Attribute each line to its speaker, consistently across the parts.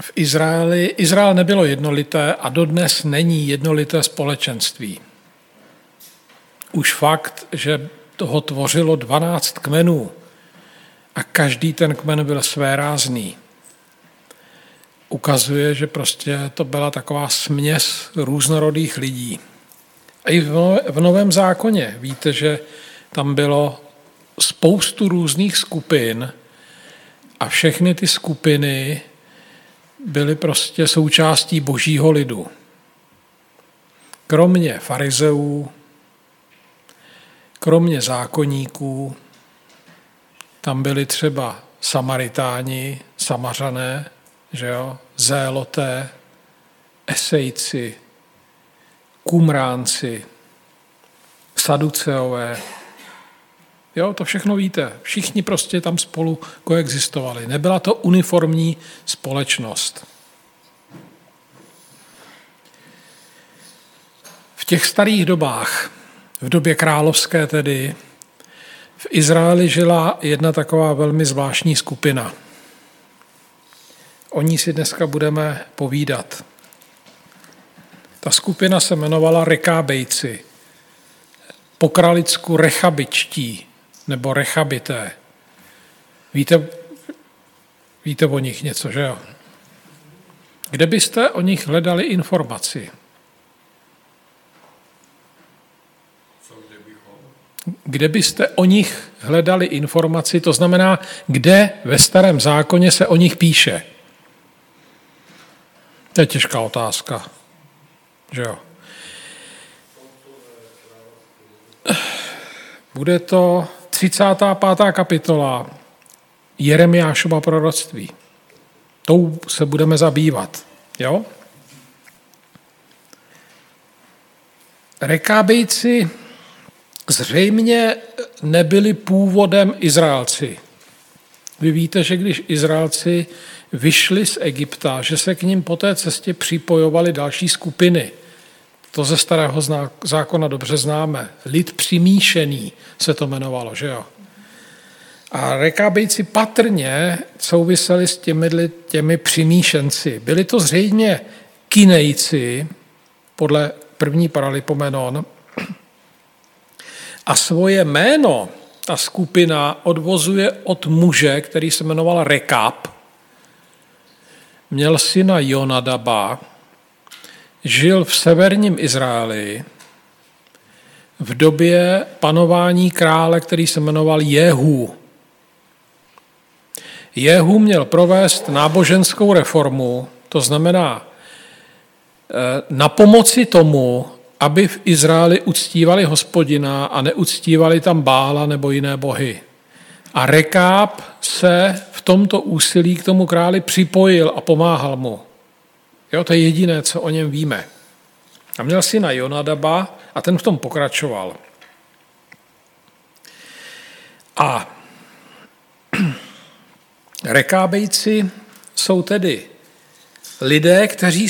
Speaker 1: Izrael nebylo jednolité a dodnes není jednolité společenství. Už fakt, že toho tvořilo 12 kmenů a každý ten kmen byl svérázný, ukazuje, že prostě to byla taková směs různorodých lidí. A i v Novém zákoně víte, že tam bylo spoustu různých skupin a všechny ty skupiny byly prostě součástí božího lidu. Kromě farizeů, kromě zákonníků, tam byli třeba Samaritáni, Samařané, že jo, Zéloté, Esejci, Kumránci, Saduceové. Jo, to všechno víte. Všichni prostě tam spolu koexistovali. Nebyla to uniformní společnost. V těch starých dobách, v době královské tedy, v Izraeli žila jedna taková velmi zvláštní skupina. O ní si dneska budeme povídat. Ta skupina se jmenovala Rekábejci, po kralicku Rechabičtí nebo Rechabité. Víte o nich něco, že jo? Kde byste o nich hledali informaci? Kde byste o nich hledali informaci, to znamená, kde ve Starém zákoně se o nich píše? To je těžká otázka, že jo? Bude to 35. kapitola Jeremiášova proroctví. Tou se budeme zabývat, jo? Rekábejci zřejmě nebyli původem Izraelci. Vy víte, že když Izraelci vyšli z Egypta, že se k ním po té cestě připojovaly další skupiny. To ze Starého zákona dobře známe. Lid přimíšený se to jmenovalo, že jo? A Rekábejci patrně souviseli s těmi přimíšenci. Byli to zřejmě Kinejci, podle první Paralipomenon, a svoje jméno ta skupina odvozuje od muže, který se jmenoval Rekáb, měl syna Jonadaba, žil v severním Izraeli v době panování krále, který se jmenoval Jehu. Jehu měl provést náboženskou reformu, to znamená na pomoci tomu, aby v Izraeli uctívali Hospodina a neuctívali tam Bála nebo jiné bohy. A Rekáb se v tomto úsilí k tomu králi připojil a pomáhal mu. Jo, to je jediné, co o něm víme. A měl syna Jonadaba a ten v tom pokračoval. A Rekábejci jsou tedy lidé, kteří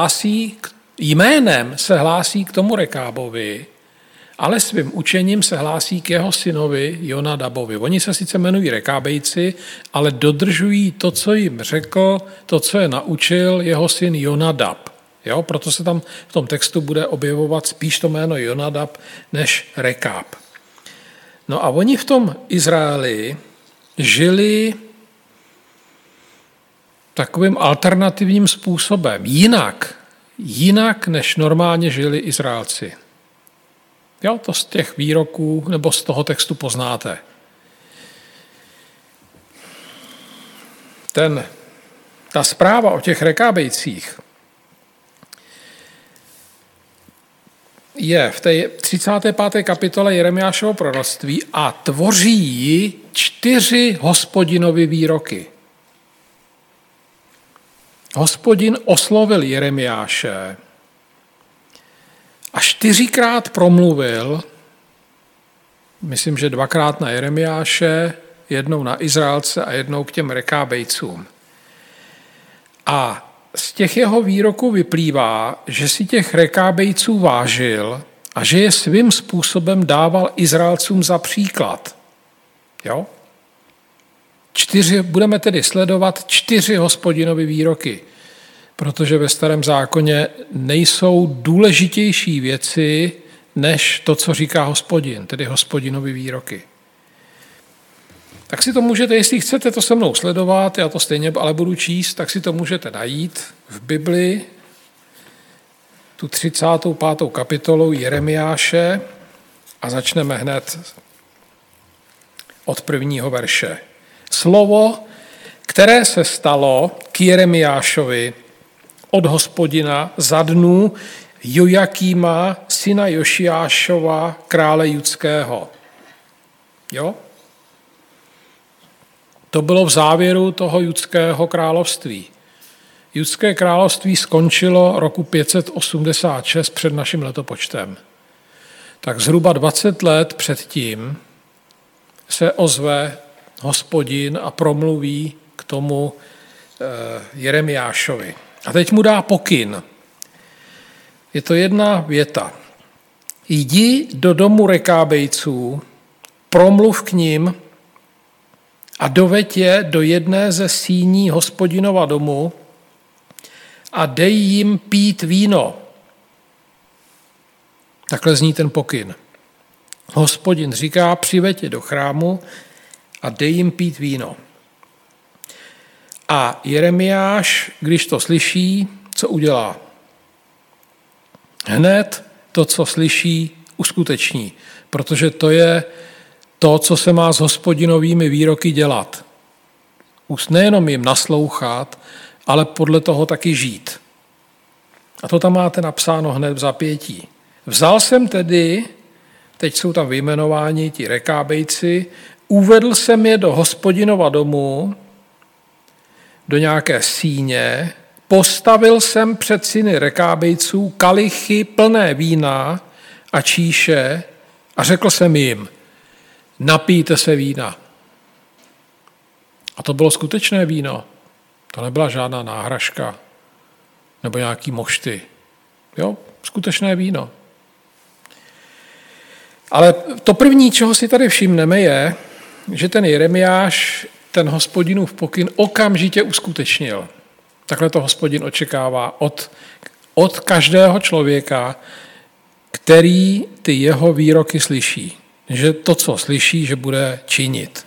Speaker 1: jménem se hlásí k tomu Rekábovi, ale svým učením se hlásí k jeho synovi Jonadabovi. Oni se sice jmenují Rekábejci, ale dodržují to, co jim řekl, to, co je naučil jeho syn Jonadab. Jo? Proto se tam v tom textu bude objevovat spíš to jméno Jonadab než Rekáb. No a oni v tom Izraeli žili takovým alternativním způsobem, jinak než normálně žili Izraelci. Jo, to z těch výroků nebo z toho textu poznáte. Ta zpráva o těch Rekábejcích je v té 35. kapitole Jeremiášovo proroctví a tvoří ji 4 Hospodinovy výroky. Hospodin oslovil Jeremiáše a 4krát promluvil, myslím, že 2krát na Jeremiáše, jednou na Izraelce a jednou k těm Rekábejcům. A z těch jeho výroků vyplývá, že si těch Rekábejců vážil a že je svým způsobem dával Izraelcům za příklad. Jo? Budeme tedy sledovat 4 Hospodinovy výroky. protože ve Starém zákoně nejsou důležitější věci, než to, co říká Hospodin, tedy Hospodinovy výroky. Tak si to můžete, jestli chcete to se mnou sledovat, já to stejně ale budu číst, tak si to můžete najít v Bibli, tu 35. kapitolu Jeremiáše a začneme hned od prvního verše. Slovo, které se stalo k Jeremiášovi od Hospodina za dnů Jojakýma, syna Jošiášova, krále judského. Jo? To bylo v závěru toho judského království. Judské království skončilo roku 586 před naším letopočtem. Tak zhruba 20 let předtím se ozve Hospodin a promluví k tomu Jeremiášovi. A teď mu dá pokyn. Je to jedna věta. Jdi do domu Rekábejců, promluv k nim a doveď je do jedné ze síní Hospodinova domu a dej jim pít víno. Takhle zní ten pokyn. Hospodin říká, přiveď je do chrámu a dej jim pít víno. A Jeremiáš, když to slyší, co udělá? Hned to, co slyší, uskuteční, protože to je to, co se má s Hospodinovými výroky dělat. Nejenom jim naslouchat, ale podle toho taky žít. A to tam máte napsáno hned v zapětí. Vzal jsem tedy, teď jsou tam vyjmenováni ti Rekábejci, uvedl jsem je do Hospodinova domu, do nějaké síně, postavil jsem před syny Rekábejců kalichy plné vína a číše a řekl jsem jim, napijte se vína. A to bylo skutečné víno. To nebyla žádná náhražka nebo nějaký mošty. Jo, skutečné víno. Ale to první, čeho si tady všimneme, je, že ten Jeremiáš ten Hospodinův pokyn okamžitě uskutečnil. Takhle to Hospodin očekává od každého člověka, který ty jeho výroky slyší. Že to, co slyší, že bude činit.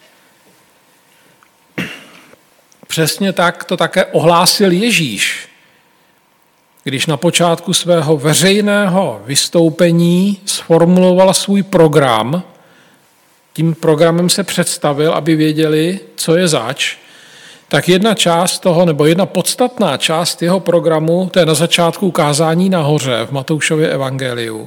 Speaker 1: Přesně tak to také ohlásil Ježíš, když na počátku svého veřejného vystoupení sformuloval svůj program. Tím programem se představil, aby věděli, co je zač, tak jedna část toho, nebo jedna podstatná část jeho programu, to je na začátku kázání nahoře v Matoušově evangeliu.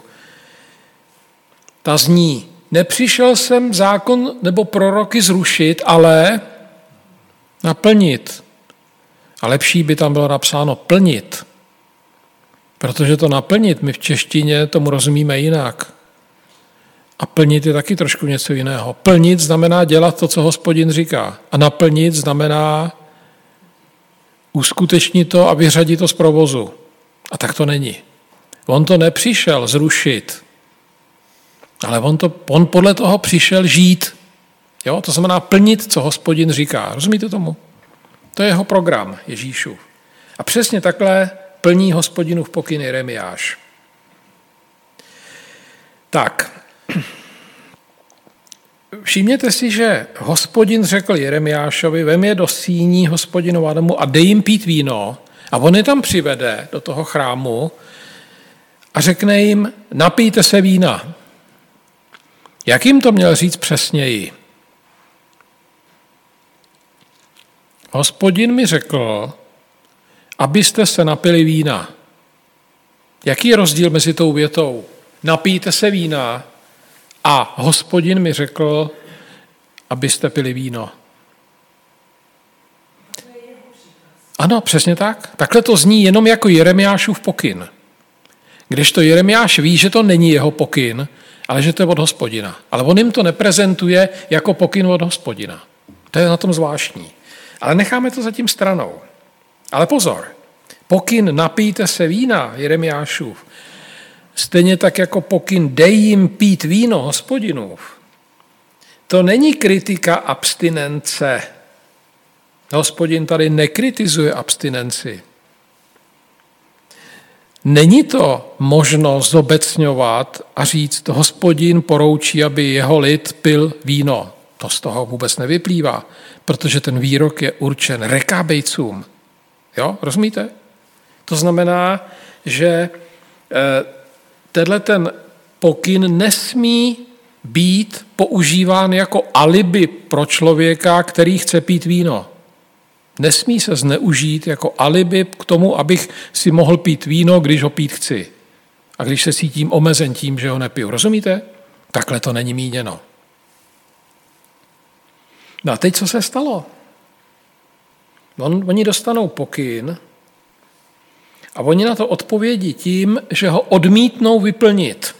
Speaker 1: Ta zní, nepřišel jsem zákon nebo proroky zrušit, ale naplnit. A lepší by tam bylo napsáno plnit. Protože to naplnit, my v češtině tomu rozumíme jinak. A plnit je taky trošku něco jiného. Plnit znamená dělat to, co Hospodin říká. A naplnit znamená uskutečnit to a vyřadit to z provozu. A tak to není. On to nepřišel zrušit, ale on podle toho přišel žít. Jo? To znamená plnit, co Hospodin říká. Rozumíte tomu? To je jeho program Ježíšův. A přesně takhle plní Hospodinův pokyn Jeremiáš. Tak, všimněte si, že Hospodin řekl Jeremiášovi, vem je do síní Hospodinova domu a dej jim pít víno a on je tam přivede do toho chrámu a řekne jim, napijte se vína. Jak jim to měl říct přesněji? Hospodin mi řekl, abyste se napili vína. Jaký je rozdíl mezi tou větou? Napijte se vína a Hospodin mi řekl, abyste pili víno. Ano, přesně tak. Takhle to zní jenom jako Jeremiášův pokyn. Kdežto Jeremiáš ví, že to není jeho pokyn, ale že to je od Hospodina. Ale on jim to neprezentuje jako pokyn od Hospodina. To je na tom zvláštní. Ale necháme to zatím stranou. Ale pozor, pokyn napijte se vína Jeremiášův, stejně tak jako pokyn dej jim pít víno Hospodinův. To není kritika abstinence. Hospodin tady nekritizuje abstinenci. Není to možno zobecňovat a říct, Hospodin poroučí, aby jeho lid pil víno. To z toho vůbec nevyplývá, protože ten výrok je určen Rekábejcům. Jo, rozumíte? To znamená, že tenhle ten pokyn nesmí být používán jako alibi pro člověka, který chce pít víno. Nesmí se zneužít jako alibi k tomu, abych si mohl pít víno, když ho pít chci. A když se cítím omezen tím, že ho nepiju. Rozumíte? Takhle to není míněno. No a teď co se stalo? Oni dostanou pokyn a oni na to odpovědí tím, že ho odmítnou vyplnit.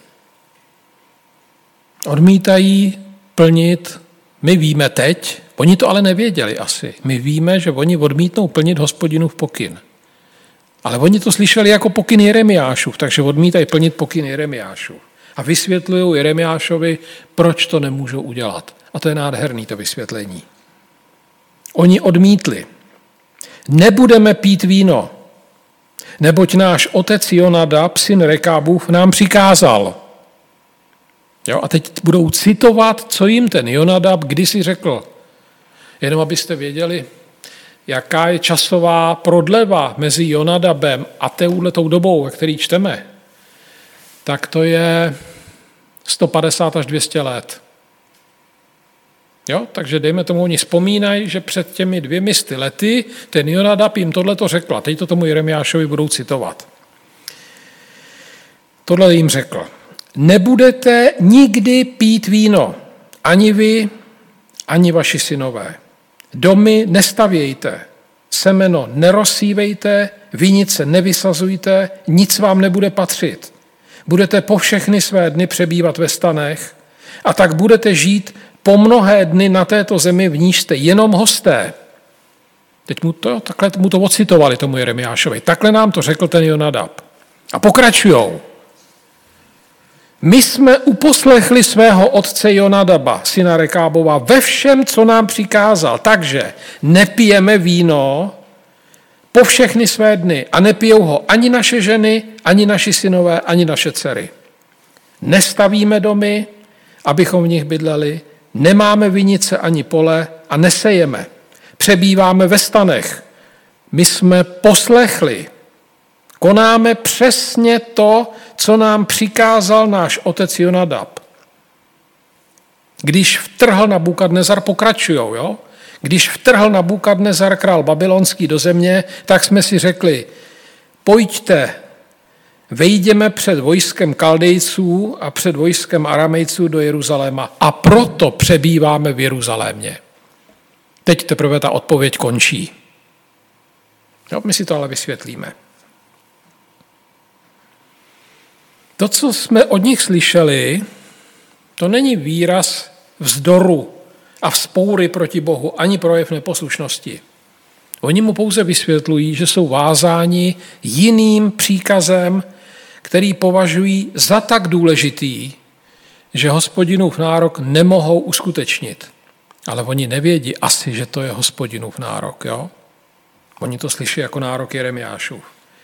Speaker 1: Odmítají plnit, my víme teď, oni to ale nevěděli asi. My víme, že oni odmítnou plnit Hospodinův pokyn. Ale oni to slyšeli jako pokyn Jeremiášův, takže odmítají plnit pokyn Jeremiášův. A vysvětlují Jeremiášovi, proč to nemůžou udělat. A to je nádherný to vysvětlení. Oni odmítli. Nebudeme pít víno, neboť náš otec Jonadab, syn Rekábův, nám přikázal. Jo, a teď budou citovat, co jim ten Jonadab kdysi řekl. Jenom abyste věděli, jaká je časová prodleva mezi Jonadabem a touhletou dobou, ve který čteme, tak to je 150 až 200 let. Jo, takže dejme tomu, oni vzpomínají, že před těmi 200 lety ten Jonadab jim tohleto řekl. Teď to tomu Jeremiášovi budou citovat. Tohle jim řekl. Nebudete nikdy pít víno, ani vy, ani vaši synové. Domy nestavějte, semeno nerozsívejte, vinice nevysazujte, nic vám nebude patřit. Budete po všechny své dny přebývat ve stanech a tak budete žít po mnohé dny na této zemi, v níž jste jenom hosté. Teď takhle mu to ocitovali tomu Jeremiášovi. Takhle nám to řekl ten Jonadab. A pokračujou. My jsme uposlechli svého otce Jonadaba, syna Rekábova, ve všem, co nám přikázal. Takže nepijeme víno po všechny své dny a nepijou ho ani naše ženy, ani naši synové, ani naše dcery. Nestavíme domy, abychom v nich bydleli, nemáme vinice ani pole a nesejeme. Přebýváme ve stanech. My jsme poslechli. Konáme přesně to, co nám přikázal náš otec Jonadab. Když vtrhl Nabukadnezar, pokračujou, jo? Když vtrhl Nabukadnezar, král babylonský, do země, tak jsme si řekli, pojďte, vejdeme před vojskem Kaldejců a před vojskem Aramejců do Jeruzaléma a proto přebýváme v Jeruzalémě. Teď teprve ta odpověď končí. Jo, my si to ale vysvětlíme. To, co jsme od nich slyšeli, to není výraz vzdoru a vzpoury proti Bohu, ani projev neposlušnosti. Oni mu pouze vysvětlují, že jsou vázáni jiným příkazem, který považují za tak důležitý, že Hospodinův nárok nemohou uskutečnit. Ale oni nevědí asi, že to je Hospodinův nárok. Jo? Oni to slyší jako nárok Jeremiášův.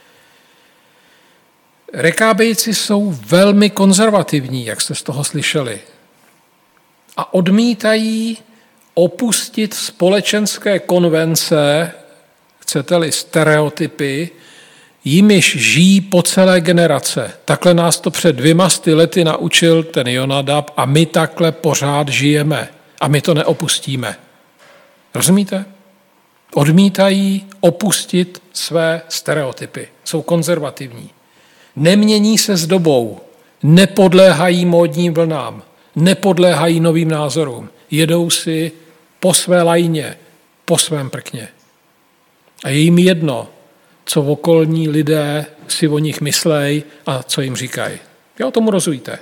Speaker 1: Rekábejci jsou velmi konzervativní, jak jste z toho slyšeli. A odmítají opustit společenské konvence, chcete-li stereotypy, jimiž žijí po celé generace. Takhle nás to před 200 lety naučil ten Jonadab a my takhle pořád žijeme a my to neopustíme. Rozumíte? Odmítají opustit své stereotypy. Jsou konzervativní. Nemění se s dobou, nepodléhají módním vlnám, nepodléhají novým názorům. Jedou si po své lajně, po svém prkně. A je jim jedno, co okolní lidé si o nich myslejí a co jim říkají. Jo, tomu rozumíte.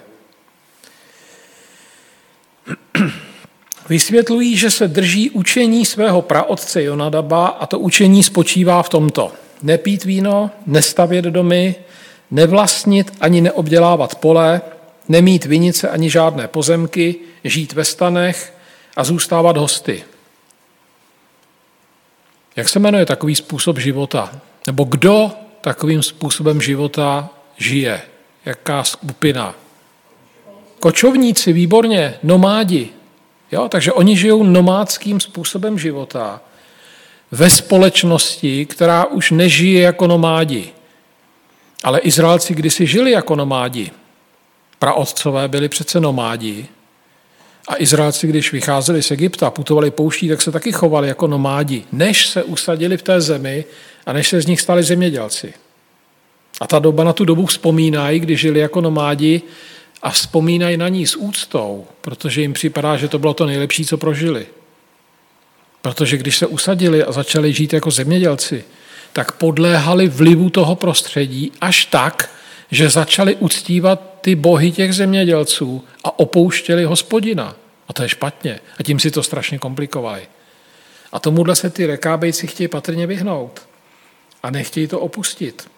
Speaker 1: Vysvětlují, že se drží učení svého praotce Jonadaba a to učení spočívá v tomto. Nepít víno, nestavět domy, nevlastnit ani neobdělávat pole, nemít vinice ani žádné pozemky, žít ve stanech a zůstávat hosty. Jak se jmenuje takový způsob života? Nebo kdo takovým způsobem života žije? Jaká skupina? Kočovníci, výborně, nomádi. Jo? Takže oni žijou nomádským způsobem života ve společnosti, která už nežije jako nomádi. Ale Izraelci kdysi žili jako nomádi. Praotcové byli přece nomádi. A Izraelci, když vycházeli z Egypta, putovali pouští, tak se taky chovali jako nomádi, než se usadili v té zemi a než se z nich stali zemědělci. A na tu dobu vzpomínají, když žili jako nomádi a vzpomínají na ní s úctou, protože jim připadá, že to bylo to nejlepší, co prožili. Protože když se usadili a začali žít jako zemědělci, tak podléhali vlivu toho prostředí až tak, že začali uctívat ty bohy těch zemědělců a opouštěli Hospodina. A to je špatně. A tím si to strašně komplikovali. A tomuhle se ty Rekábejci chtějí patrně vyhnout. A nechtějí to opustit.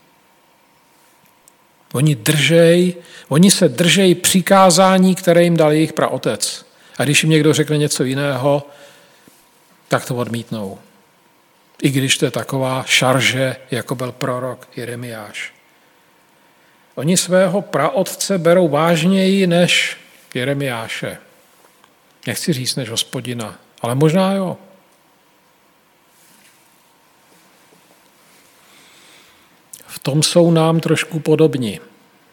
Speaker 1: Oni se držejí přikázání, které jim dal jejich praotec. A když jim někdo řekne něco jiného, tak to odmítnou. I když to je taková šarže, jako byl prorok Jeremiáš. Oni svého praotce berou vážněji než Jeremiáše. Nechci říct než Hospodina, ale možná jo. V tom jsou nám trošku podobni.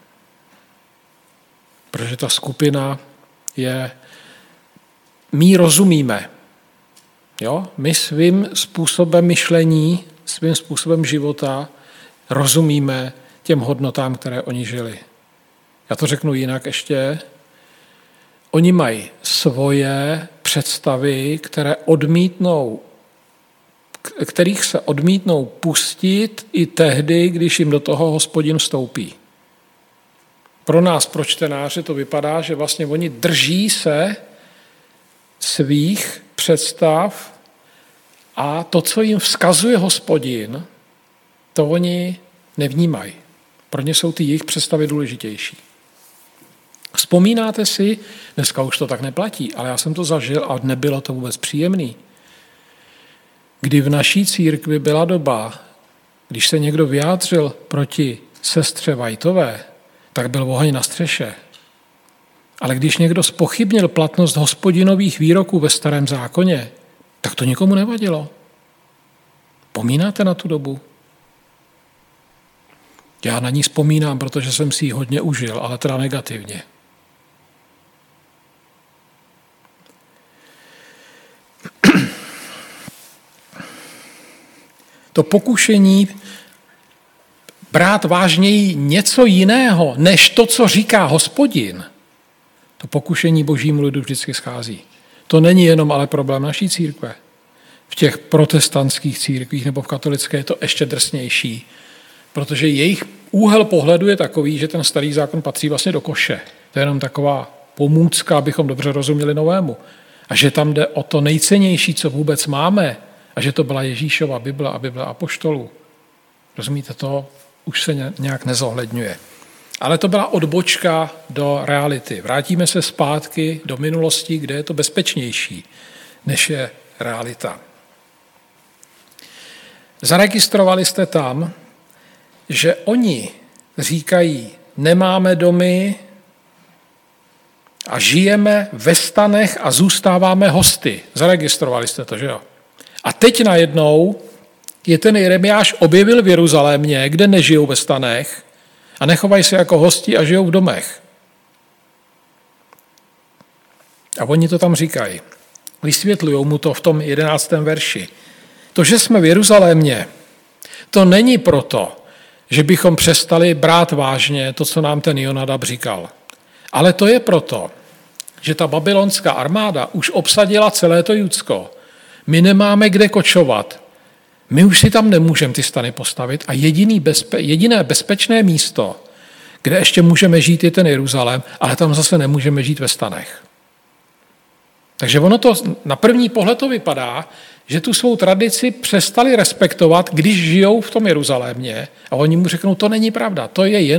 Speaker 1: Protože ta skupina je, my rozumíme. Jo? My svým způsobem myšlení, svým způsobem života rozumíme těm hodnotám, které oni žili. Já to řeknu jinak ještě. Oni mají svoje představy, kterých se odmítnou pustit i tehdy, když jim do toho Hospodin vstoupí. Pro nás, pro čtenáře, to vypadá, že vlastně oni drží se svých představ a to, co jim vzkazuje Hospodin, to oni nevnímají. Pro ně jsou ty jejich představy důležitější. Vzpomínáte si, dneska už to tak neplatí, ale já jsem to zažil a nebylo to vůbec příjemný. Kdy v naší církvi byla doba, když se někdo vyjádřil proti sestře Whiteové, tak byl oheň na střeše. Ale když někdo zpochybnil platnost Hospodinových výroků ve Starém zákoně, tak to nikomu nevadilo. Vzpomínáte na tu dobu? Já na ní vzpomínám, protože jsem si ji hodně užil, ale teda negativně. To pokušení brát vážněji něco jiného, než to, co říká Hospodin, to pokušení božímu lidu vždycky schází. To není jenom ale problém naší církve. V těch protestantských církvích nebo v katolické je to ještě drsnější, protože jejich úhel pohledu je takový, že ten starý zákon patří vlastně do koše. To je jenom taková pomůcka, abychom dobře rozuměli novému. A že tam jde o to nejcennější, co vůbec máme, a že to byla Ježíšova Bible a Bible apoštolů. Rozumíte, to už se nějak nezohledňuje. Ale to byla odbočka do reality. Vrátíme se zpátky do minulosti, kde je to bezpečnější, než je realita. Zaregistrovali jste tam, že oni říkají, nemáme domy a žijeme ve stanech a zůstáváme hosty. Zaregistrovali jste to, že jo? A teď najednou je ten Jeremiáš objevil v Jeruzalémě, kde nežijou ve stanech a nechovají se jako hosti a žijou v domech. A oni to tam říkají. Vysvětlují mu to v tom 11. verši. To, že jsme v Jeruzalémě, to není proto, že bychom přestali brát vážně to, co nám ten Jonadab říkal. Ale to je proto, že ta babylonská armáda už obsadila celé to Judsko. My nemáme kde kočovat. My už si tam nemůžeme ty stany postavit a jediné bezpečné místo, kde ještě můžeme žít, je ten Jeruzalém, ale tam zase nemůžeme žít ve stanech. Takže ono to na první pohled to vypadá, že tu svou tradici přestali respektovat, když žijou v tom Jeruzalémě a oni mu řeknou, to není pravda, to je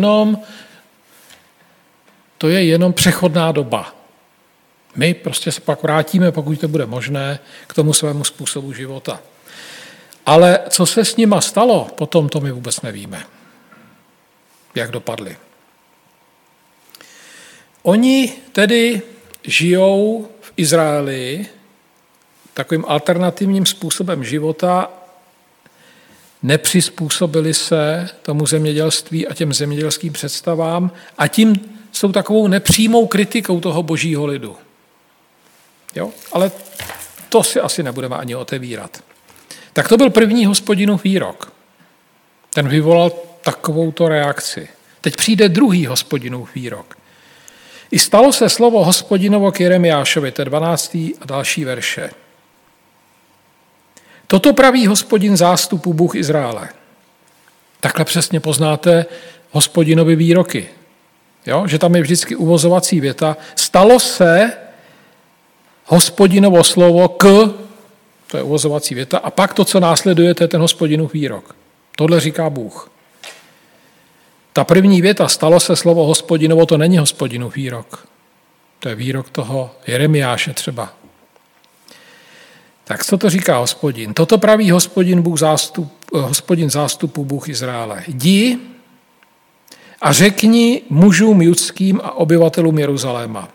Speaker 1: jenom přechodná doba. My prostě se pak vrátíme, pokud to bude možné, k tomu svému způsobu života. Ale co se s nima stalo, potom to my vůbec nevíme. jak dopadly. Oni tedy žijou v Izraeli takovým alternativním způsobem života, nepřizpůsobili se tomu zemědělství a těm zemědělským představám a tím jsou takovou nepřímou kritikou toho božího lidu. Jo? Ale to si asi nebudeme ani otevírat. Tak to byl první Hospodinův výrok. Ten vyvolal takovouto reakci. Teď přijde druhý Hospodinův výrok. I stalo se slovo Hospodinovo k Jeremiášovi, to je 12. a další verše. Toto praví Hospodin zástupu, Bůh Izraele. Takhle přesně poznáte Hospodinovi výroky. Jo? Že tam je vždycky uvozovací věta. Stalo se Hospodinovo slovo k, to je uvozovací věta, a pak to, co následuje, to je ten Hospodinův výrok. Tohle říká Bůh. Ta první věta, stalo se slovo Hospodinovo, to není Hospodinův výrok. To je výrok toho Jeremiáše třeba. Tak co to říká Hospodin? Toto praví Hospodin zástupu, Bůh Izraele. Jdi a řekni mužům judským a obyvatelům Jeruzaléma.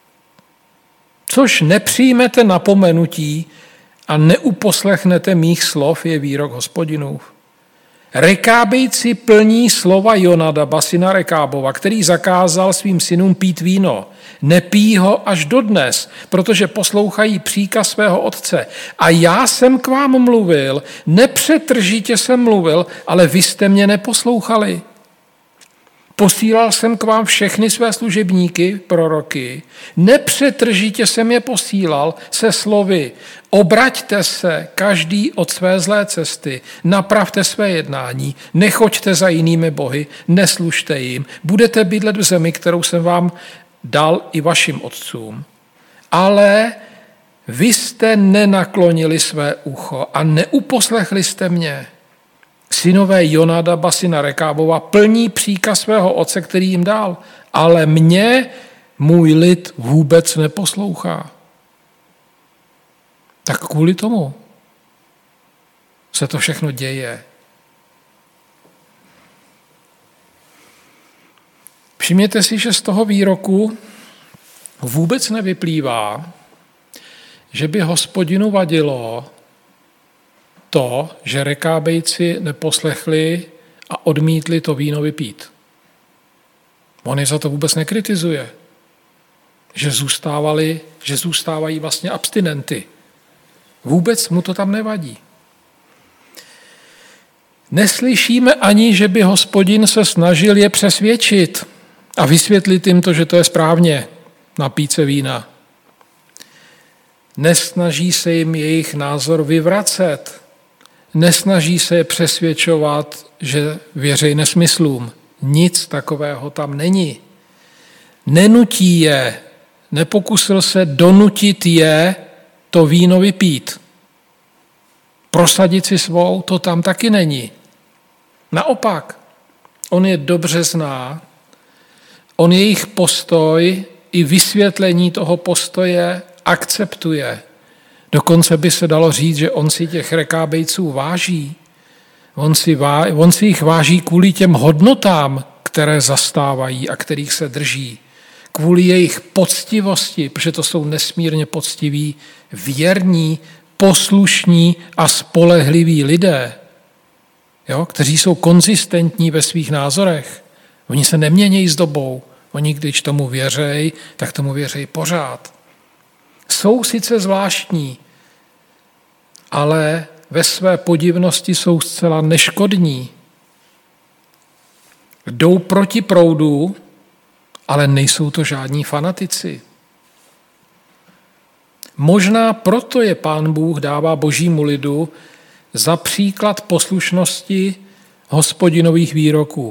Speaker 1: Což nepřijmete napomenutí a neuposlechnete mých slov, je výrok Hospodinův. Rekábejci plní slova Jonadaba, syna Rekábova, který zakázal svým synům pít víno. Nepíjí ho až dodnes, protože poslouchají příkaz svého otce. A já jsem k vám mluvil, nepřetržitě jsem mluvil, ale vy jste mě neposlouchali. Posílal jsem k vám všechny své služebníky, proroky, nepřetržitě jsem je posílal se slovy: obraťte se každý od své zlé cesty, napravte své jednání, nechoďte za jinými bohy, neslužte jim, budete bydlet v zemi, kterou jsem vám dal i vašim otcům. Ale vy jste nenaklonili své ucho a neuposlechli jste mě. Synové Jonadaba, syna Rekábova, plní příkaz svého otce, který jim dal, ale mě můj lid vůbec neposlouchá. Tak kvůli tomu se to všechno děje. Všimněte si, že z toho výroku vůbec nevyplývá, že by Hospodinu vadilo to, že Rekábejci neposlechli a odmítli to víno vypít. On je za to vůbec nekritizuje, že zůstávají vlastně abstinenty. Vůbec mu to tam nevadí. Neslyšíme ani, že by Hospodin se snažil je přesvědčit a vysvětlit jim to, že to je správně, napít se vína. Nesnaží se jim jejich názor vyvracet. Nesnaží se je přesvědčovat, že věří nesmyslům. Nic takového tam není. Nenutí je, nepokusil se donutit je to víno vypít. Prosadit si svou, to tam taky není. Naopak, on je dobře zná, on jejich postoj i vysvětlení toho postoje akceptuje. Dokonce by se dalo říct, že on si těch Rekábejců váží. On si jich váží kvůli těm hodnotám, které zastávají a kterých se drží. Kvůli jejich poctivosti, protože to jsou nesmírně poctiví, věrní, poslušní a spolehliví lidé, jo, kteří jsou konzistentní ve svých názorech. Oni se nemění s dobou. Oni, když tomu věří, tak tomu věří pořád. Jsou sice zvláštní, ale ve své podivnosti jsou zcela neškodní. Jdou proti proudu, ale nejsou to žádní fanatici. Možná proto je Pán Bůh dává božímu lidu za příklad poslušnosti Hospodinových výroků.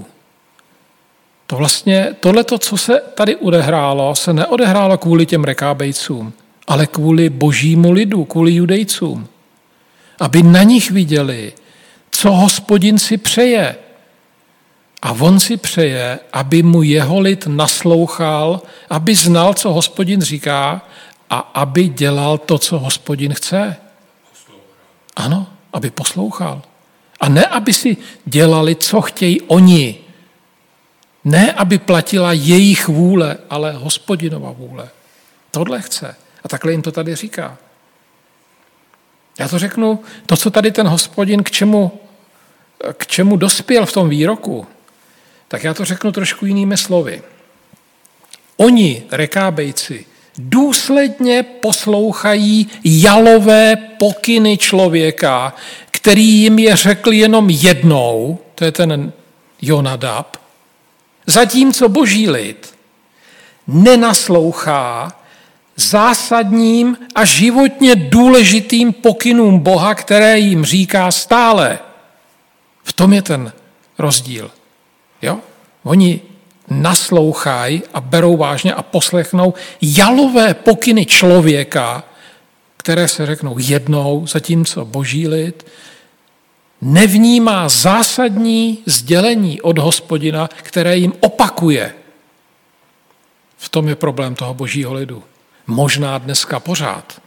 Speaker 1: Tohleto, co se tady odehrálo, se neodehrálo kvůli těm Rekábejcům, ale kvůli božímu lidu, kvůli Judejcům. Aby na nich viděli, co Hospodin si přeje. A on si přeje, aby mu jeho lid naslouchal, aby znal, co Hospodin říká a aby dělal to, co Hospodin chce. Ano, aby poslouchal. A ne, aby si dělali, co chtějí oni. Ne, aby platila jejich vůle, ale Hospodinova vůle. Tohle chce. A takhle jim to tady říká. Já to řeknu, to, co tady ten Hospodin k čemu dospěl v tom výroku, tak já to řeknu trošku jinými slovy. Oni, Rekábejci, důsledně poslouchají jalové pokyny člověka, který jim je řekl jenom jednou, to je ten Jonadab, zatímco boží lid nenaslouchá zásadním a životně důležitým pokynům Boha, které jim říká stále. V tom je ten rozdíl. Jo? Oni naslouchají a berou vážně a poslechnou jalové pokyny člověka, které se řeknou jednou, zatímco boží lid nevnímá zásadní sdělení od Hospodina, které jim opakuje. V tom je problém toho božího lidu. Možná dneska pořád.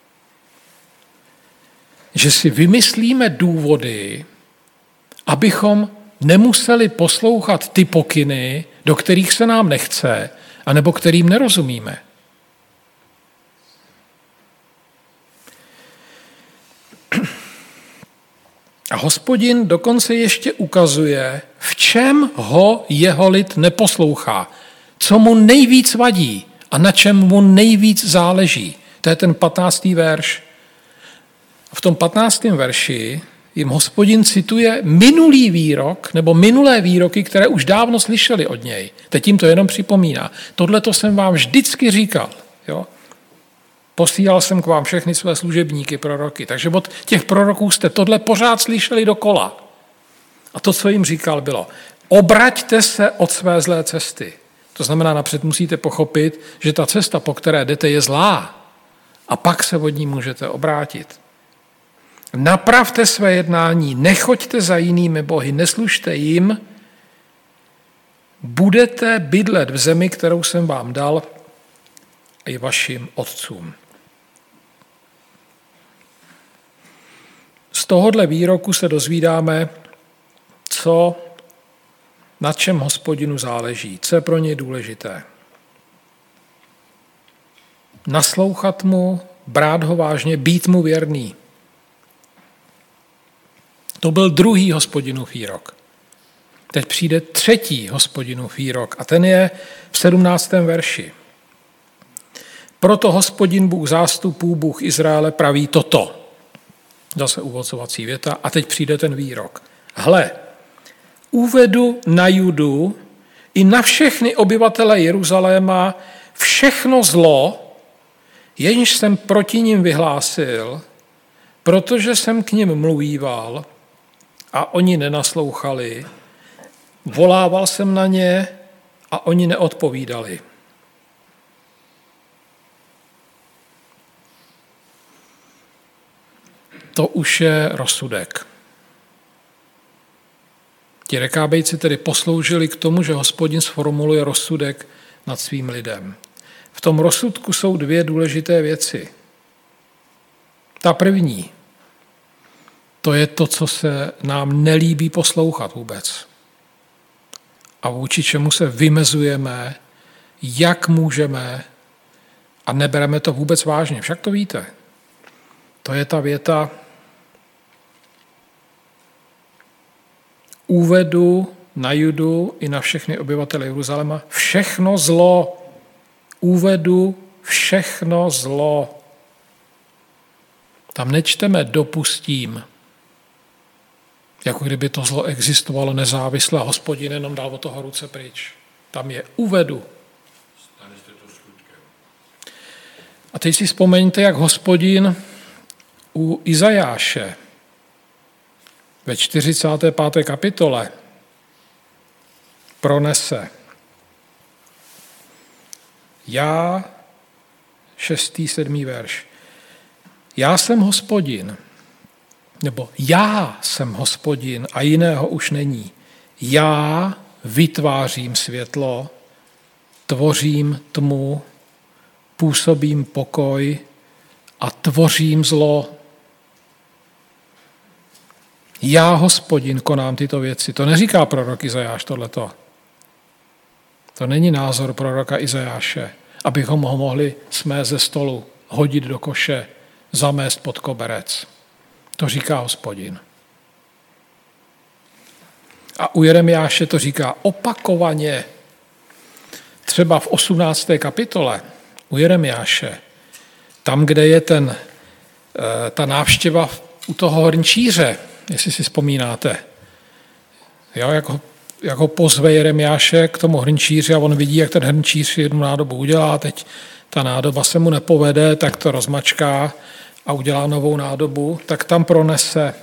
Speaker 1: Že si vymyslíme důvody, abychom nemuseli poslouchat ty pokyny, do kterých se nám nechce, anebo kterým nerozumíme. A Hospodin dokonce ještě ukazuje, v čem ho jeho lid neposlouchá, co mu nejvíc vadí a na čem mu nejvíc záleží. To je ten 15. verš. V tom 15. verši jim Hospodin cituje minulý výrok, nebo minulé výroky, které už dávno slyšeli od něj. Teď jim to jenom připomíná. Tohle to jsem vám vždycky říkal. Jo? Posílal jsem k vám všechny své služebníky, proroky. Takže od těch proroků jste tohle pořád slyšeli dokola. A to, co jim říkal, bylo: obraťte se od své zlé cesty. To znamená, napřed musíte pochopit, že ta cesta, po které jdete, je zlá. A pak se od ní můžete obrátit. Napravte své jednání, nechoďte za jinými bohy, neslužte jim, budete bydlet v zemi, kterou jsem vám dal i vašim otcům. Z tohohle výroku se dozvídáme, na čem Hospodinu záleží, co je pro něj důležité. Naslouchat mu, brát ho vážně, být mu věrný. To byl druhý Hospodinův výrok. Teď přijde třetí Hospodinův výrok a ten je v 17. verši. Proto Hospodin Bůh zástupů, Bůh Izraele praví toto. Zase uvocovací věta a teď přijde ten výrok. Hle, uvedu na Judu i na všechny obyvatele Jeruzaléma všechno zlo, jenž jsem proti nim vyhlásil, protože jsem k nim mluvíval a oni nenaslouchali, volával jsem na ně a oni neodpovídali. To už je rozsudek. Ti Rekábejci tedy posloužili k tomu, že Hospodin sformuluje rozsudek nad svým lidem. V tom rozsudku jsou dvě důležité věci. Ta první, to je to, co se nám nelíbí poslouchat vůbec. A vůči čemu se vymezujeme, jak můžeme a nebereme to vůbec vážně. Však to víte. To je ta věta: uvedu na Judu i na všechny obyvatele Jeruzaléma všechno zlo. Uvedu všechno zlo. Tam nečteme dopustím, jako kdyby to zlo existovalo nezávisle a Hospodin jenom dal od toho ruce pryč. Tam je uvedu. A teď si vzpomeňte, jak Hospodin u Izajáše ve 45. kapitole pronese: já, 6. 7. verš. Já jsem Hospodin, nebo já jsem Hospodin a jiného už není. Já vytvářím světlo, tvořím tmu, působím pokoj a tvořím zlo. Já, Hospodin, konám tyto věci. To neříká prorok Izajáš tohleto. To není názor proroka Izajáše, abychom ho mohli smést ze stolu, hodit do koše, zamést pod koberec. To říká Hospodin. A u Jeremiáše to říká opakovaně. Třeba v 18. kapitole u Jeremiáše, tam, kde je ta návštěva u toho hrnčíře, jestli si vzpomínáte. Jo, jak ho pozve Jeremiáše k tomu hrnčíři a on vidí, jak ten hrnčíř jednu nádobu udělá, teď ta nádoba se mu nepovede, tak to rozmačká a udělá novou nádobu, tak tam pronese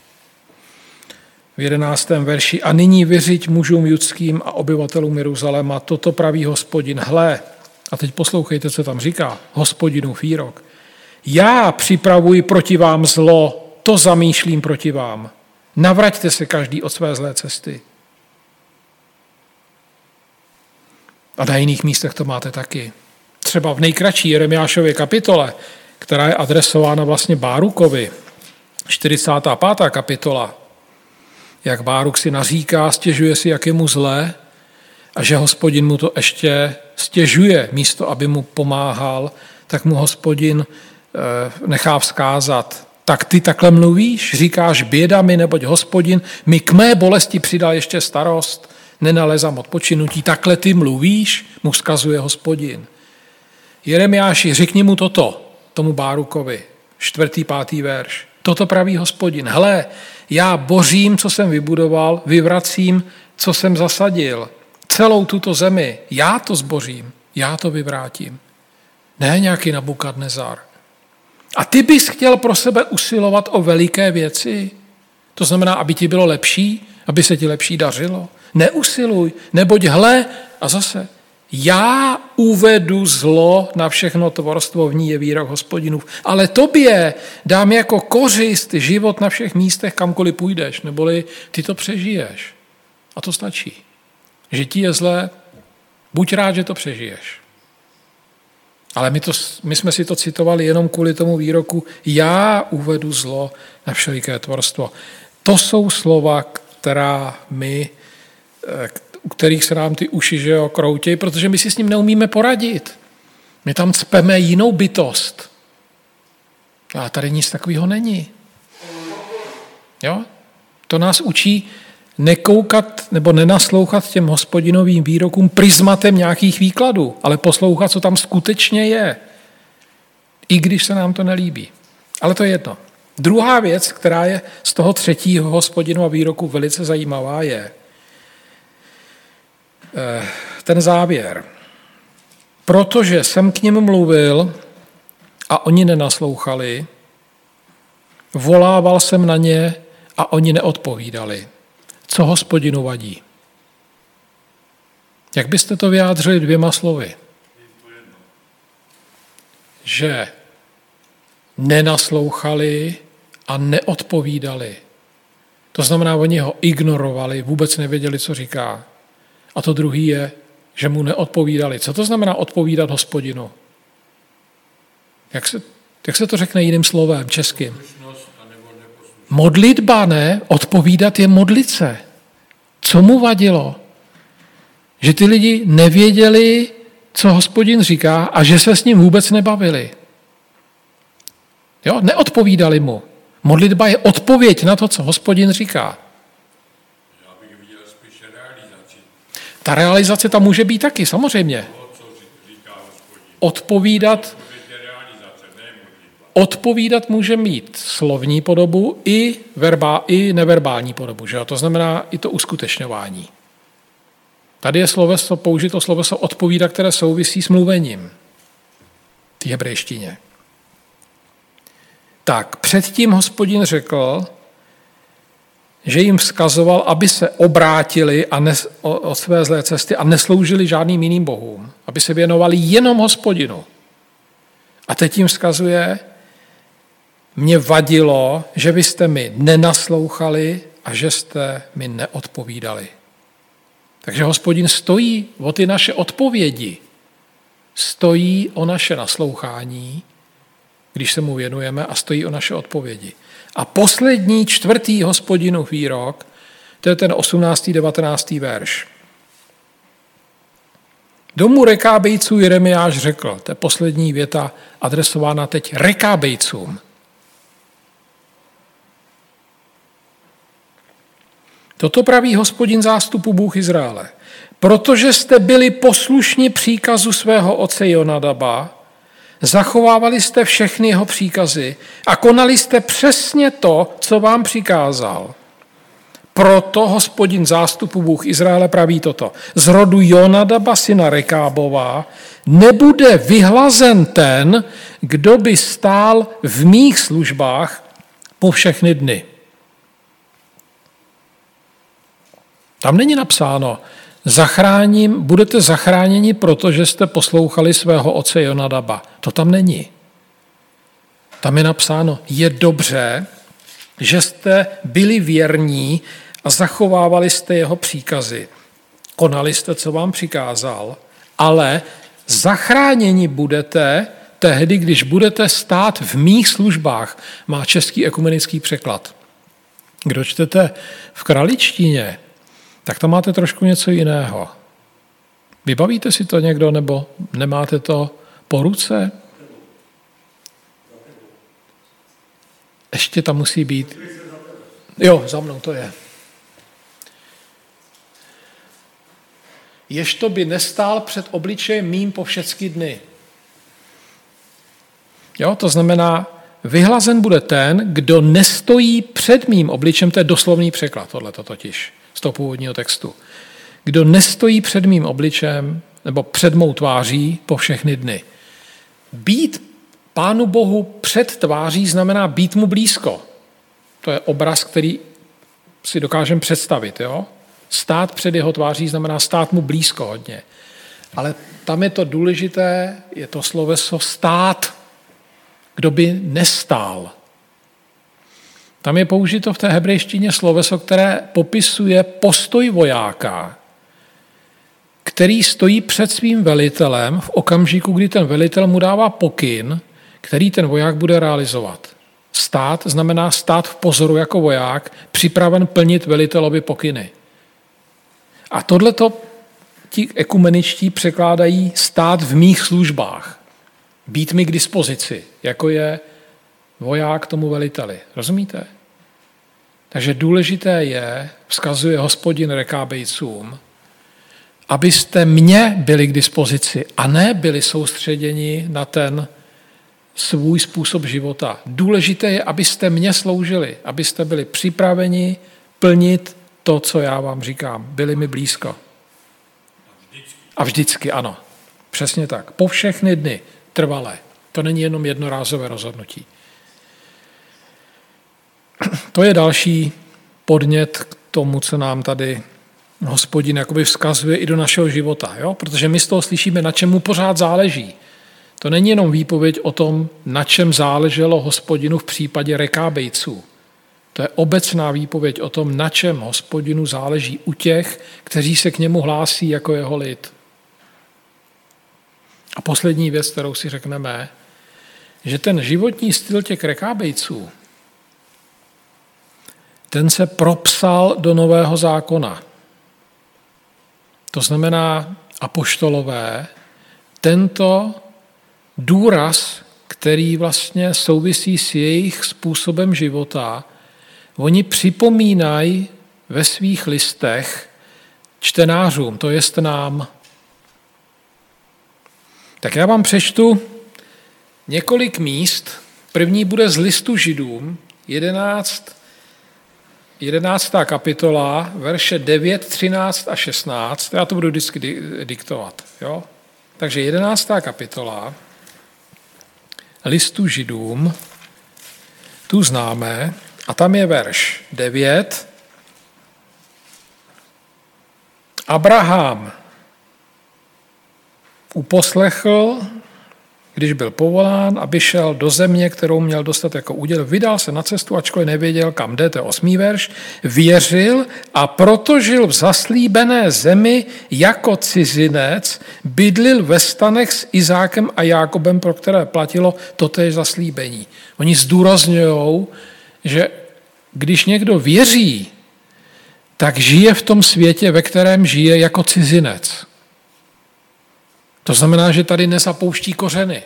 Speaker 1: v 11. verši a nyní vyřiď mužům judským a obyvatelům Jeruzaléma, toto praví Hospodin, hle, a teď poslouchejte, co tam říká, Hospodinův výrok. Já připravuji proti vám zlo, to zamýšlím proti vám. Navraťte se každý od své zlé cesty. A na jiných místech to máte taky. Třeba v nejkratší Jeremiášově kapitole, která je adresována vlastně Bárukovi, 45. kapitola, jak Báruk si naříká, stěžuje si, jak je mu zlé a že Hospodin mu to ještě stěžuje, místo aby mu pomáhal, tak mu Hospodin nechá vzkázat. Tak ty takhle mluvíš, říkáš běda mi, neboť Hospodin mi k mé bolesti přidal ještě starost, nenalezám odpočinutí, takhle ty mluvíš, mu vzkazuje Hospodin. Jeremiáši, řekni mu toto, tomu Bárukovi, 4. 5. verš. Toto praví Hospodin. Hle, já bořím, co jsem vybudoval, vyvracím, co jsem zasadil. Celou tuto zemi, já to zbořím, já to vyvrátím. Ne nějaký Nabukadnezar. A ty bys chtěl pro sebe usilovat o veliké věci? To znamená, aby ti bylo lepší, aby se ti lepší dařilo? Neusiluj, neboť hle, a zase, já uvedu zlo na všechno tvorstvo, v ní je výrok Hospodinův, ale tobě dám jako kořist život na všech místech, kamkoliv půjdeš, neboli ty to přežiješ. A to stačí. Že ti je zlé, buď rád, že to přežiješ. Ale my jsme si to citovali jenom kvůli tomu výroku, já uvedu zlo na všeliké tvorstvo. To jsou slova, u kterých se nám ty uši kroutějí, protože my si s ním neumíme poradit. My tam cpeme jinou bytost. A tady nic takového není. Jo? To nás učí nekoukat nebo nenaslouchat těm Hospodinovým výrokům prismatem nějakých výkladů, ale poslouchat, co tam skutečně je, i když se nám to nelíbí. Ale to je jedno. Druhá věc, která je z toho 3. Hospodinova výroku velice zajímavá, je ten závěr. Protože jsem k nim mluvil a oni nenaslouchali, volával jsem na ně a oni neodpovídali. Co Hospodinu vadí? Jak byste to vyjádřili 2 slovy? Že nenaslouchali a neodpovídali. To znamená, oni ho ignorovali, vůbec nevěděli, co říká. A to druhý je, že mu neodpovídali. Co to znamená odpovídat Hospodinu? Jak se to řekne jiným slovem, českým? Modlitba, ne? Odpovídat je modlit se. Co mu vadilo? Že ty lidi nevěděli, co Hospodin říká a že se s ním vůbec nebavili. Jo? Neodpovídali mu. Modlitba je odpověď na to, co Hospodin říká.
Speaker 2: Já bych viděl spíše realizaci.
Speaker 1: Ta realizace tam může být taky, samozřejmě. Odpovídat může mít slovní podobu i neverbální podobu. Že? To znamená i to uskutečňování. Tady je použito sloveso odpovídat, které souvisí s mluvením. V hebrejštině. Tak, předtím Hospodin řekl, že jim vzkazoval, aby se obrátili od své zlé cesty a nesloužili žádným jiným bohům, aby se věnovali jenom Hospodinu. A teď jim vzkazuje, mě vadilo, že vy jste mi nenaslouchali a že jste mi neodpovídali. Takže Hospodin stojí o ty naše odpovědi, stojí o naše naslouchání, když se mu věnujeme, a stojí o naše odpovědi. A poslední 4. Hospodinův výrok, to je ten 18. 19. verš. Domu Rekábejců Jeremiáš řekl, to je poslední věta adresována teď Rekábejcům. Toto praví Hospodin zástupu Bůh Izraele. Protože jste byli poslušni příkazu svého otce Jonadaba, zachovávali jste všechny jeho příkazy a konali jste přesně to, co vám přikázal. Proto Hospodin zástupu Bůh Izraele praví toto. Z rodu Jonadaba syna Rekábova nebude vyhlazen ten, kdo by stál v mých službách po všechny dny. Tam není napsáno, budete zachráněni, protože jste poslouchali svého otce Jonadaba. To tam není. Tam je napsáno, je dobře, že jste byli věrní a zachovávali jste jeho příkazy. Konali jste, co vám přikázal, ale zachráněni budete tehdy, když budete stát v mých službách, má český ekumenický překlad. Kdo čtete v kraličtině, tak tam máte trošku něco jiného. Vybavíte si to někdo, nebo nemáte to po ruce? Ještě tam musí být. Jo, za mnou to je. Ježto by nestál před obličejem mým po všechny dny. Jo, to znamená, vyhlazen bude ten, kdo nestojí před mým obličem, to je doslovný překlad, tohleto totiž, z toho původního textu. Kdo nestojí před mým obličem, nebo před mou tváří po všechny dny. Být Pánu Bohu před tváří znamená být mu blízko. To je obraz, který si dokážeme představit. Jo? Stát před jeho tváří znamená stát mu blízko hodně. Ale tam je to důležité, je to sloveso stát, kdo by nestál. Tam je použito v té hebrejštině sloveso, které popisuje postoj vojáka, který stojí před svým velitelem v okamžiku, kdy ten velitel mu dává pokyn, který ten voják bude realizovat. Stát znamená stát v pozoru jako voják, připraven plnit velitelovi pokyny. A tohleto ti ekumeničtí překládají stát v mých službách. Být mi k dispozici, jako je voják tomu veliteli. Rozumíte? Takže důležité je, vzkazuje Hospodin Rekábejcům, abyste mě byli k dispozici a ne byli soustředěni na ten svůj způsob života. Důležité je, abyste mě sloužili, abyste byli připraveni plnit to, co já vám říkám. Byli mi blízko. A vždycky, ano. Přesně tak. Po všechny dny. Trvalé. To není jenom jednorázové rozhodnutí. To je další podnět k tomu, co nám tady Hospodin jakoby vzkazuje i do našeho života. Jo? Protože my z toho slyšíme, na čem mu pořád záleží. To není jenom výpověď o tom, na čem záleželo Hospodinu v případě Rekábejců. To je obecná výpověď o tom, na čem Hospodinu záleží u těch, kteří se k němu hlásí jako jeho lid. A poslední věc, kterou si řekneme, že ten životní styl těch Rekábejců, ten se propsal do Nového zákona. To znamená apoštolové, tento důraz, který vlastně souvisí s jejich způsobem života, oni připomínají ve svých listech čtenářům, to jest nám. Tak já vám přečtu několik míst. První bude z listu Židům, 11. kapitola, verše 9, 13 a 16. Já to budu vždycky diktovat. Jo? Takže 11. kapitola listu Židům, tu známe, a tam je verš 9. Abraham uposlechl, když byl povolán, aby šel do země, kterou měl dostat jako úděl, vydal se na cestu, ačkoliv nevěděl, kam jde, to je 8. verš, věřil a proto žil v zaslíbené zemi jako cizinec, bydlil ve stanech s Izákem a Jákobem, pro které platilo totéž zaslíbení. Oni zdůrazňují, že když někdo věří, tak žije v tom světě, ve kterém žije jako cizinec. To znamená, že tady nezapouští kořeny.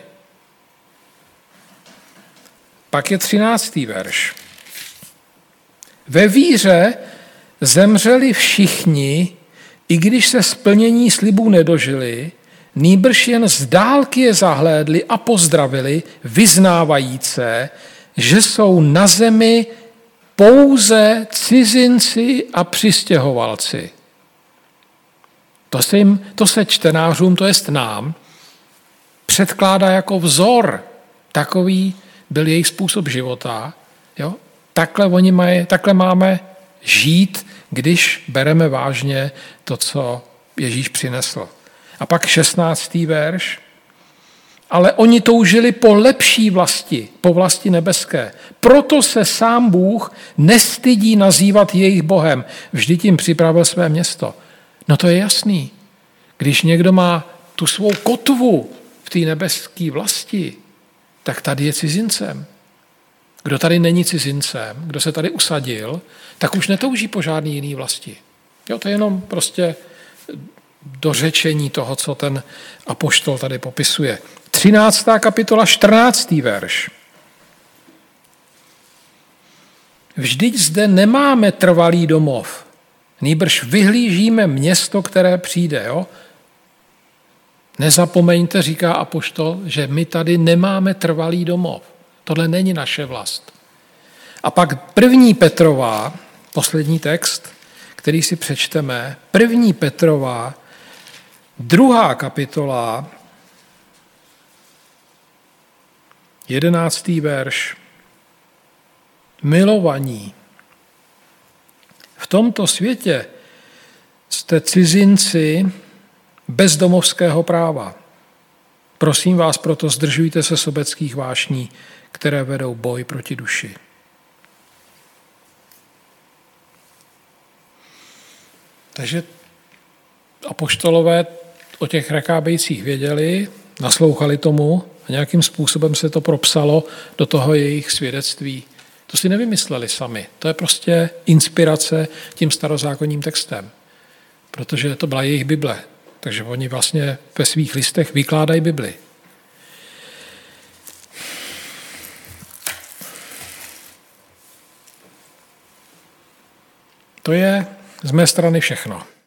Speaker 1: Pak je 13. verš. Ve víře zemřeli všichni, i když se splnění slibů nedožili, nýbrž jen z dálky je zahlédli a pozdravili, vyznávajíce, že jsou na zemi pouze cizinci a přistěhovalci. To se čtenářům, to jest nám, předkládá jako vzor. Takový byl jejich způsob života. Jo? Takhle máme žít, když bereme vážně to, co Ježíš přinesl. A pak 16. verš. Ale oni toužili po lepší vlasti, po vlasti nebeské. Proto se sám Bůh nestydí nazývat jejich Bohem. Vždyť jim připravil své město. No to je jasný. Když někdo má tu svou kotvu v té nebeské vlasti, tak tady je cizincem. Kdo tady není cizincem, kdo se tady usadil, tak už netouží po žádný jiný vlasti. Jo, to je jenom prostě dořečení toho, co ten apoštol tady popisuje. 13. kapitola, 14. verš. Vždyť zde nemáme trvalý domov, nýbrž vyhlížíme město, které přijde. Jo? Nezapomeňte, říká apoštol, že my tady nemáme trvalý domov. Tohle není naše vlast. A pak 1. Petrova, poslední text, který si přečteme, 1. Petrova, 2. kapitola, 11. verš. Milovaní, v tomto světě jste cizinci bez domovského práva. Prosím vás, proto zdržujte se sobeckých vášní, které vedou boj proti duši. Takže apoštolové o těch rekábejcích věděli, naslouchali tomu a nějakým způsobem se to propsalo do toho jejich svědectví. To si nevymysleli sami. To je prostě inspirace tím starozákonním textem. Protože to byla jejich Bible. Takže oni vlastně ve svých listech vykládají Bibli. To je z mé strany všechno.